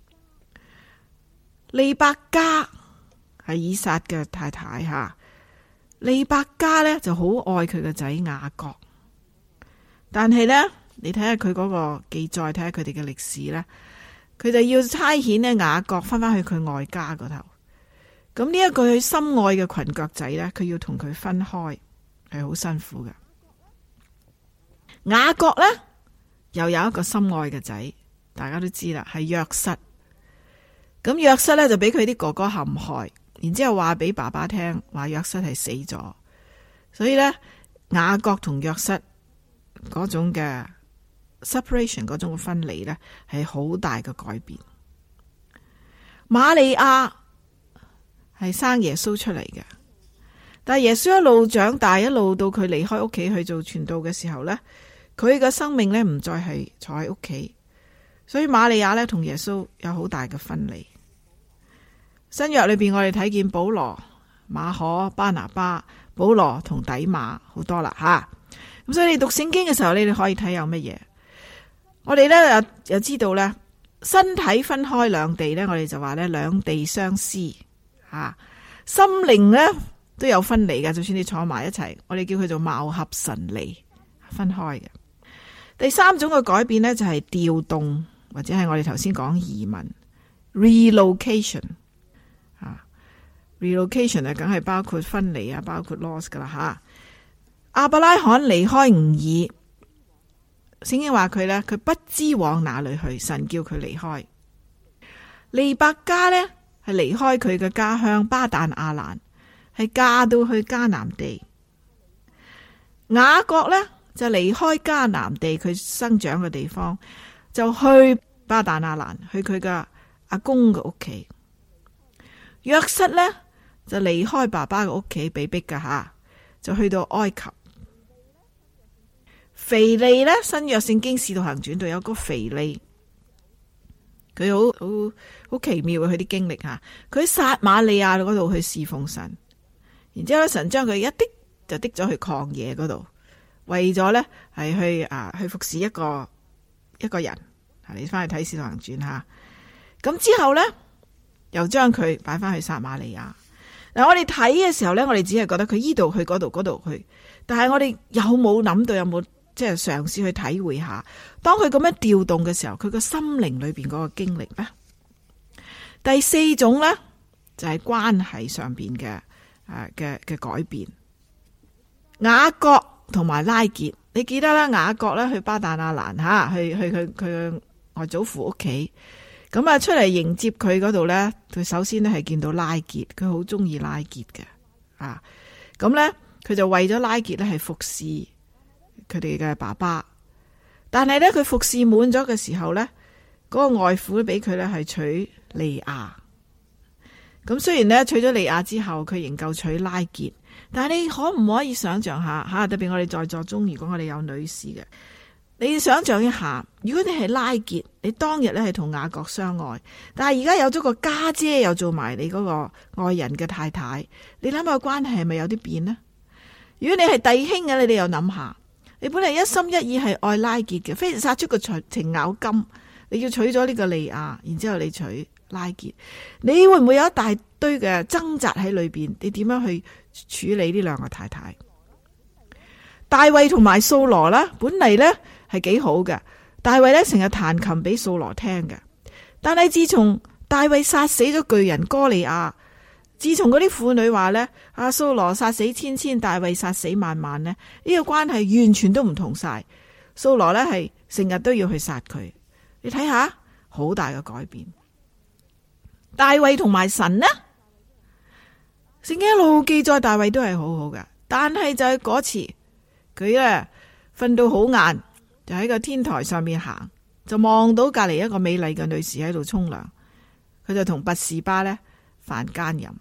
Speaker 2: 利百加係以撒嘅太太吓，利百加呢就好愛佢個仔雅各，但係呢，你睇下佢嗰個記載，睇下佢哋嘅歷史呢，佢就要差遣呢雅各翻返去佢外家嗰頭。咁呢一個佢心愛嘅裙腳仔呢，佢要同佢分開，係好辛苦嘅。雅各呢，又有一個心愛嘅仔，大家都知啦，係約瑟。咁約瑟呢，就俾佢啲哥哥陷害，然之後話俾爸爸聽，話約瑟係死咗。所以呢，雅各同約瑟嗰種嘅 separation， 嗰種嘅分離呢，係好大嘅改變。瑪利亞係生耶穌出嚟嘅，但係耶穌一路長大，一路到佢離開屋企去做傳道嘅時候呢，佢嘅生命呢唔再係坐喺屋企，所以瑪利亞呢同耶穌有好大嘅分離。新約裏邊我哋睇見保羅、馬可、巴拿巴、保羅同底馬好多啦吓。咁所以你讀聖經嘅時候，你哋可以睇有乜嘢。我哋呢又知道呢，身體分開兩地呢，我哋就話呢兩地相思吓。心靈呢都有分離嘅，就算你坐埋一齊，我哋叫佢做貌合神離，分開嘅。第三種嘅改變呢，就係調動，或者係我哋頭先講移民 relocation。relocation 梗係包括分離啊，包括 loss 噶啦吓。亞伯拉罕離開吾珥，聖經話佢呢，佢不知往哪裏去，神叫佢離開。利百加呢，係離開佢嘅家鄉巴旦亞蘭，係嫁到去迦南地。雅各呢，就離開迦南地佢生長嘅地方，就去巴旦亞蘭，去佢嘅阿公嘅屋企。約瑟呢，就離開爸爸嘅屋企，被逼噶吓，就去到埃及。腓利呢，新約聖經使徒行傳度有個腓利，佢好奇妙嘅佢啲經歷吓，佢喺撒瑪利亞嗰度去侍奉神，然之後咧神將佢一滴就滴咗去曠野嗰度，為咗呢係去服侍一個人。你翻去睇使徒行傳吓，咁之後呢，又將佢擺翻去撒瑪利亞。嗱，我哋睇嘅時候呢，我哋只係覺得佢依度去嗰度，嗰度去，但係我哋有冇諗到，有冇即係嘗試去體會下，當佢咁樣調動嘅時候，佢個心靈裏邊嗰個經歷呢？第四種呢，就係關係上邊嘅改變。雅各同埋拉結，你記得啦？雅各呢去巴旦亞蘭吓，去佢嘅外祖父屋企。咁啊，出嚟迎接佢嗰度呢，佢首先呢係見到拉結，佢好中意拉結嘅啊。咁呢，佢就為咗拉結呢係服侍佢哋嘅爸爸。 但係咧佢服侍滿咗嘅時候咧，嗰個外父俾佢咧係娶利亞。咁雖然咧娶咗利亞之後，佢仍舊娶拉結，但係你可唔可以想象下吓？特別我哋在座中，如果我哋有女士嘅，你想象一下，如果你係拉結，你當日咧係同雅各相愛，但係而家有咗個家姐又做埋你嗰個愛人嘅太太，你諗下個關係係咪有啲變呢？如果你係弟兄嘅，你哋又諗下，你本嚟一心一意係愛拉結嘅，非殺出個程咬金，你要娶咗呢個利亞，然之後你娶拉結，你會唔會有一大堆嘅掙扎喺裏邊？你點樣去處理呢兩個太太？大衛同埋掃羅啦，本嚟呢係幾好嘅。大衛呢成日彈琴俾掃羅聽嘅，但係自從大衛殺死咗巨人哥利亞，自從嗰啲婦女話呢，阿掃羅殺死千千，大衛殺死萬萬呢，呢個關係完全都唔同晒。掃羅呢係成日都要去殺佢，你睇下好大嘅改變。大衛同埋神呢，聖經一路記載大衛都係好好嘅，但係就係嗰次佢咧瞓到好晏，就喺個天台上面行，就望到隔籬一個美麗嘅女士喺度沖涼，佢就同拔士巴咧犯奸淫。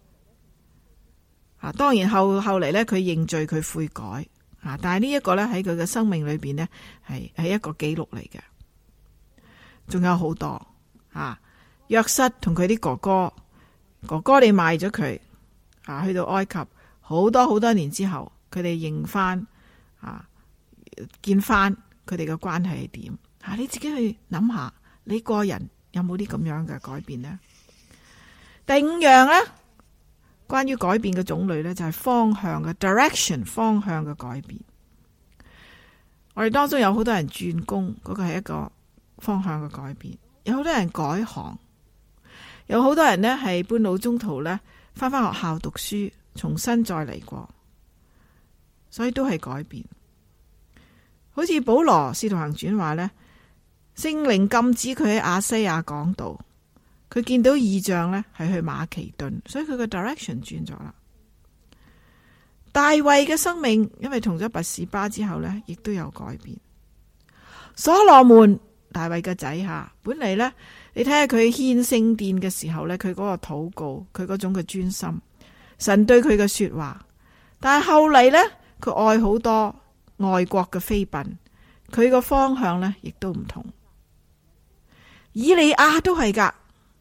Speaker 2: 當然後嚟咧佢認罪，佢悔改，但係呢一個咧喺佢嘅生命裏邊呢，係一個記錄嚟嘅，仲有好多約瑟同佢啲哥哥你賣咗佢去到埃及，好多年之後，佢哋認翻見翻佢哋嘅關係係點？你自己去諗下，你個人有冇啲咁樣嘅改變呢？第五樣呢，關於改變嘅種類呢，就係方向嘅 direction， 方向嘅改變。我哋當中有好多人轉工，嗰個係一個方向嘅改變；有好多人改行。有好多人呢係半路中途呢翻學校讀書，重新再嚟過，所以都係改變。好似保羅使徒行傳話呢，聖靈禁止佢喺亞西亞講道，佢見到異象呢係去馬其頓，所以佢個 direction 轉咗啦。大衛嘅生命因為同咗拔士巴之後呢，亦都有改變。所羅門大衛嘅仔本嚟呢，你睇下佢獻聖殿嘅時候呢，佢嗰個禱告，佢嗰種嘅專心，神對佢嘅說話。但係後嚟呢，佢愛好多外國嘅妃嬪，佢個方向呢亦都唔同。以利亞都係噶，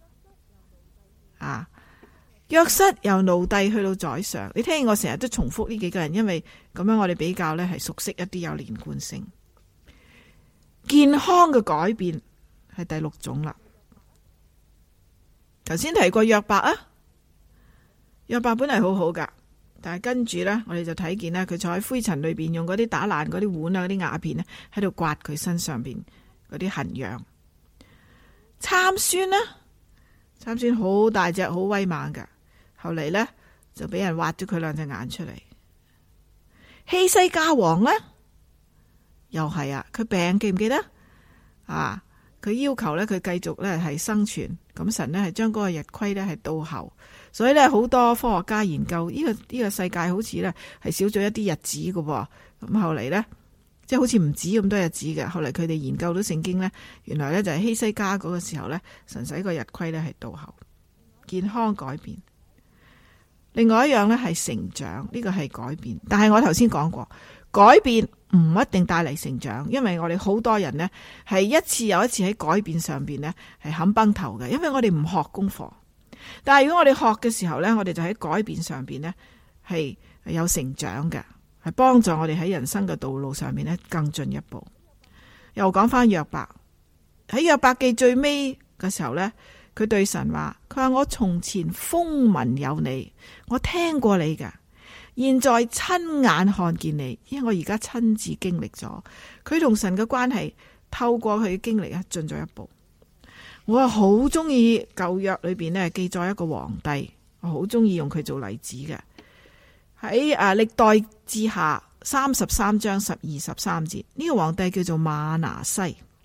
Speaker 2: 約瑟由奴隸去到宰相。你聽我成日都重複呢幾個人，因為咁樣我哋比較呢係熟悉一啲，有連貫性。健康嘅改變係第六種啦。頭先提過約伯約伯本嚟好好噶，但係跟住呢，我哋就睇見呢，佢坐喺灰塵裏邊，用嗰啲打爛嗰啲碗嗰啲瓦片呢，喺度刮佢身上邊嗰啲痕癢。參孫好大隻，好威猛噶，後嚟呢，就俾人挖咗佢兩隻眼出嚟。希西家王呢，又係佢病，記唔記得佢要求呢，佢繼續呢係生存，咁神呢係將嗰個日虧呢係倒後，所以呢，好多科學家研究呢個世界好似呢係少咗一啲日子噶，咁後嚟呢，即係好似唔止咁多日子嘅。後嚟佢哋研究到聖經呢，原來呢就係希西家嗰個時候呢，神使個日虧呢係倒後，健康改變。另外一樣呢係成長，呢個係改變，但係我頭先講過，改變唔一定帶嚟成長，因為我哋好多人呢係一次又一次喺改變上邊呢係冚崩頭嘅，因為我哋唔學功課。但係如果我哋學嘅時候呢，我哋就喺改變上邊呢係有成長嘅，係幫助我哋喺人生嘅道路上面呢更進一步。又講翻約伯，喺約伯記最尾嘅時候呢，佢對神話，佢話我從前風聞有你，我聽過你㗎。現在親眼看見你，因為我而家親自經歷咗佢同神嘅關係，透過佢嘅經歷進咗一步。我係好中意舊約裏邊呢記載一個皇帝，我好中意用佢做例子嘅。喺歷代志下33章12、13節，呢個皇帝叫做馬拿西。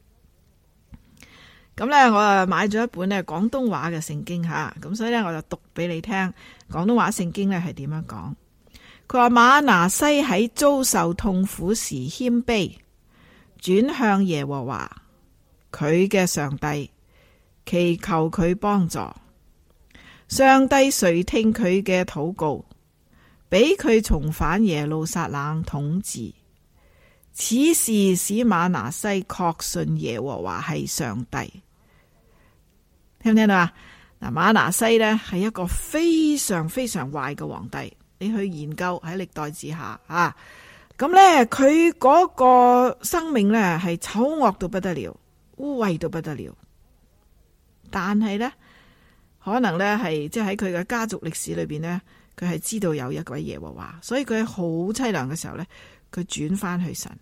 Speaker 2: 咁呢，我買咗一本呢廣東話嘅聖經吓，咁所以呢，我就讀俾你聽廣東話聖經呢係點樣講。佢話馬拿西喺遭受痛苦時謙卑， 轉向耶和華佢嘅上帝，祈求佢幫助。上帝垂聽佢嘅禱告，俾佢重返耶路撒冷統治。此事使瑪拿西確信耶和華係上帝。聽唔聽到啊？嗱，瑪拿西呢係一個非常非常壞嘅皇帝。你去研究喺歷代志下啊，咁呢，佢嗰個生命呢係醜惡到不得了，污穢到不得了。但係呢，可能呢係即係喺佢嘅家族歷史裏邊呢，佢係知道有一位耶和華，所以佢喺好淒涼嘅時候呢，佢轉翻去神。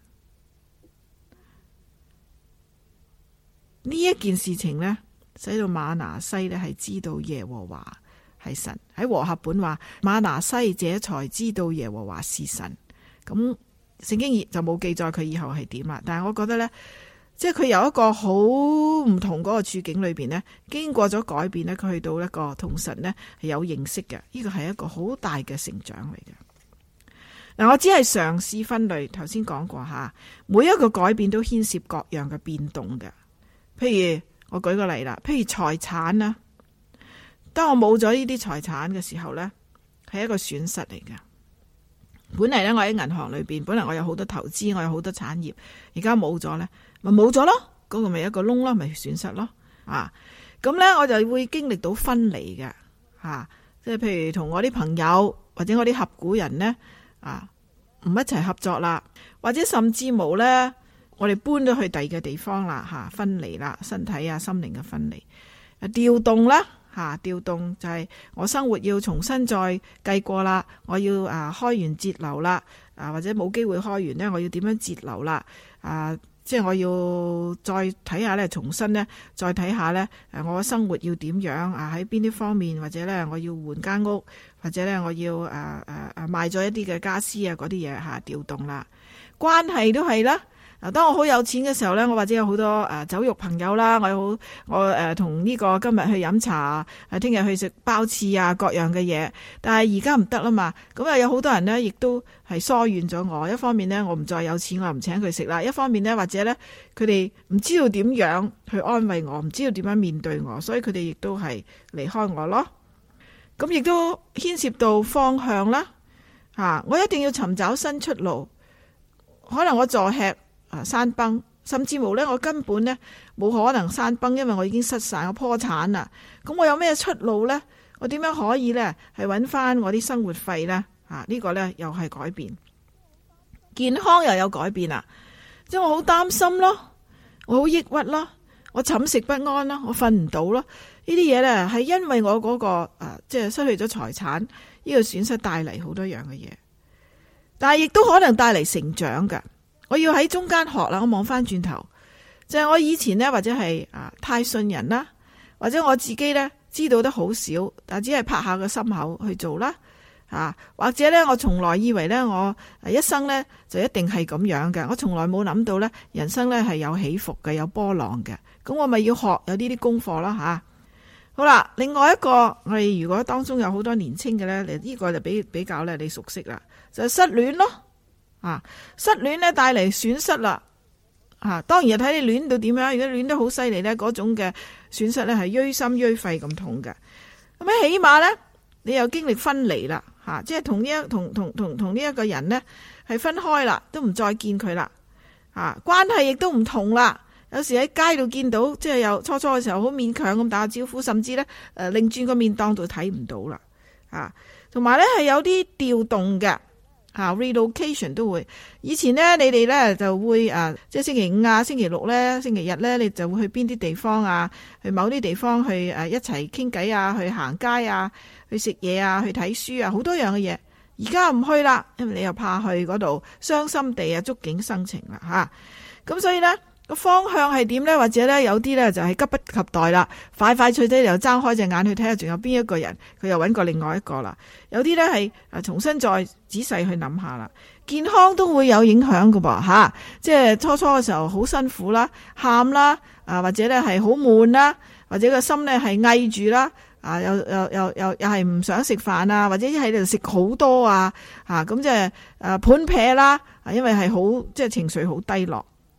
Speaker 2: 呢一件事情呢，使到瑪拿西呢係知道耶和華係神。喺和合本話，瑪拿西這才知道耶和華是神。咁聖經就冇記載佢以後係點啦。但係我覺得呢，即係佢有一個好唔同嗰個處境裏邊呢，經過咗改變呢，佢去到一個同神呢係有認識嘅。呢個係一個好大嘅成長嚟嘅。嗱，我只係嘗試分類，頭先講過吓，每一個改變都牽涉各樣嘅變動嘅。譬如我舉個例啦，譬如財產啦，當我冇咗呢啲財產嘅時候呢，係一個損失嚟嘅。本嚟呢，我喺銀行裏邊，本嚟我有好多投資，我有好多產業，而家冇咗呢，咪冇咗咯，嗰個咪一個窿咯，咪損失咯。啊，咁呢，我就會經歷到分離嘅，即係譬如同我啲朋友或者我啲合股人呢，唔一齊合作啦，或者甚至冇呢。我哋搬咗去第二個地方啦，分離啦，身體啊、心靈嘅分離，調動啦，調動就係我生活要重新再計過啦，我要開源節流啦，或者冇機會開源呢，我要點樣節流啦，即係我要再睇下呢，重新呢，再睇下呢，我嘅生活要點樣喺邊啲方面，或者呢，我要換間屋，或者呢，我要賣咗一啲嘅家私啊嗰啲嘢調動啦，關係都係啦。嗱，當我好有錢嘅時候呢，我或者有好多酒肉朋友啦，我同呢個今日去飲茶，聽日去食包翅啊，各樣嘅嘢。但係而家唔得啦嘛，咁有好多人呢，亦都係疏遠咗我。一方面呢，我唔再有錢，我唔請佢食啦；一方面呢，或者呢，佢哋唔知道點樣去安慰我，唔知道點樣面對我，所以佢哋亦都係離開我咯。咁亦都牽涉到方向啦，我一定要尋找新出路。可能我坐吃山崩，甚至乎呢，我根本呢冇可能山崩，因為我已經失散，我破產啦。咁我有咩出路呢？我點樣可以呢？係揾翻我啲生活費呢？呢個呢又係改變，健康又有改變啦。即係我好擔心咯，我好抑鬱咯，我寢食不安咯，我瞓唔到咯。呢啲嘢呢係因為我嗰個即係失去咗財產呢個損失帶嚟好多樣嘅嘢，但係亦都可能帶嚟成長㗎。我要喺中間學啦，我望翻轉頭，就係我以前呢，或者係太信人啦，或者我自己呢知道得好少，但只係拍下個心口去做啦，或者呢，我從來以為呢，我一生呢就一定係咁樣嘅，我從來冇諗到呢，人生呢係有起伏嘅，有波浪嘅，咁我咪要學有呢啲功課啦吓。好啦，另外一個我哋如果當中有好多年青嘅呢，呢個就比較呢，你熟悉啦，就係失戀咯。失戀咧帶嚟損失啦，當然睇你戀到點樣。如果戀得好犀利咧，嗰種嘅損失咧係錐心錐肺咁痛嘅。咁咧起碼咧，你又經歷分離啦，即係同呢一個人呢係分開啦，都唔再見佢啦，關係亦都唔同啦。有時喺街度見到，即係有初嘅時候好勉強咁打招呼，甚至咧擰轉個面當到睇唔到啦，同埋咧係有啲調動嘅。relocation 都會，以前呢，你哋呢就會即係星期五啊、星期六呢、星期日呢，你就會去邊啲地方啊？去某啲地方去一齊傾偈啊，去行街啊，去食嘢啊，去睇書啊，好多樣嘅嘢。而家唔去啦，因為你又怕去嗰度傷心地觸景生情啦咁所以呢，個方向係點呢？或者呢，有啲呢就係急不及待啦，快脆啲又睜開隻眼去睇下，仲有邊一個人，佢又揾過另外一個啦。有啲呢係重新再仔細去諗下啦。健康都會有影響㗎噃即係初嘅時候好辛苦啦，喊啦或者呢係好悶啦，或者個心呢係翳住啦，又係唔想食飯啊，或者喺度食好多咁即係盤劈啦，因為係好即係情緒好低落。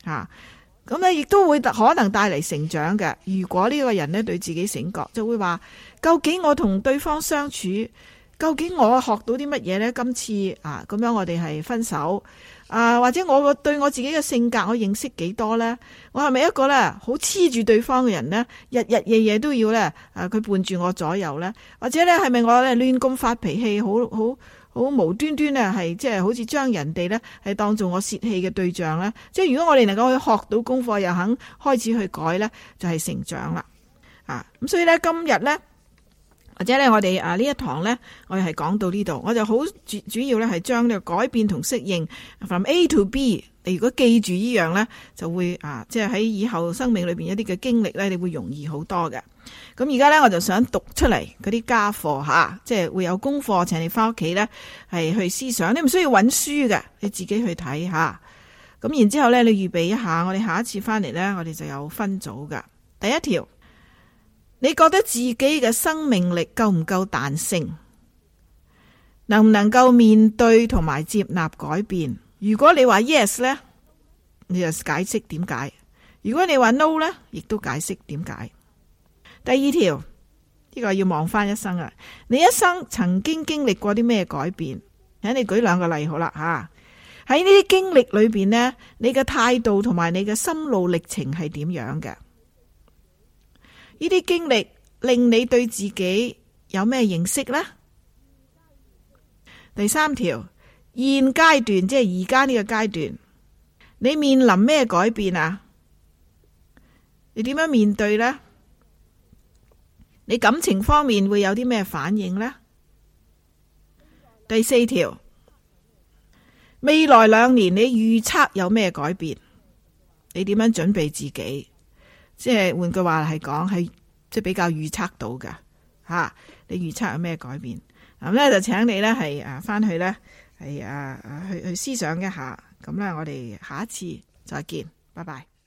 Speaker 2: 吓。咁咧亦都會可能帶嚟成長嘅。如果呢個人咧對自己醒覺，就會話究竟我同對方相處，究竟我學到啲乜嘢呢？今次咁樣我哋係分手或者我對我自己嘅性格我認識幾多呢？我係咪一個咧好黐住對方嘅人呢？日日夜夜都要咧佢伴住我左右呢？或者咧係咪我咧亂咁發脾氣，好無端端咧係即係好似將人哋咧係當做我泄氣嘅對象呢？即係如果我哋能夠去學到功課，又肯開始去改呢，就係成長啦。咁所以咧今日呢，或者咧我哋呢一堂呢，我哋係講到呢度，我就好主要咧係將呢個改變同適應 from A to B。你如果記住呢樣呢，就會即係喺以後生命裏邊一啲嘅經歷呢，你會容易好多嘅。咁而家呢，我就想讀出嚟嗰啲家課即係會有功課，請你翻屋企呢係去思想。你唔需要揾書嘅，你自己去睇下。咁然之後呢，你預備一下，我哋下一次翻嚟呢，我哋就有分組噶。第一條，你覺得自己嘅生命力夠唔夠彈性？能唔能夠面對同埋接納改變？如果你話 yes 呢，你就解釋點解；如果你話 no 呢，亦都解釋點解。第二條，呢個要望翻一生啊！你一生曾經經歷過啲咩改變？請你舉兩個例好啦吓。喺呢啲經歷裏邊呢，你嘅態度同埋你嘅心路歷程係點樣嘅？呢啲經歷令你對自己有咩認識呢？第三條，現階段即係而家呢個階段，你面臨咩改變啊？你點樣面對呢？你感情方面會有啲咩反應呢？第四條，未來2年你預測有咩改變？你點樣準備自己？即係換句話係講，係即係比較預測到㗎吓。你預測有咩改變？咁咧就請你咧係翻去咧係去思想一下。咁咧我哋下一次再見，拜拜。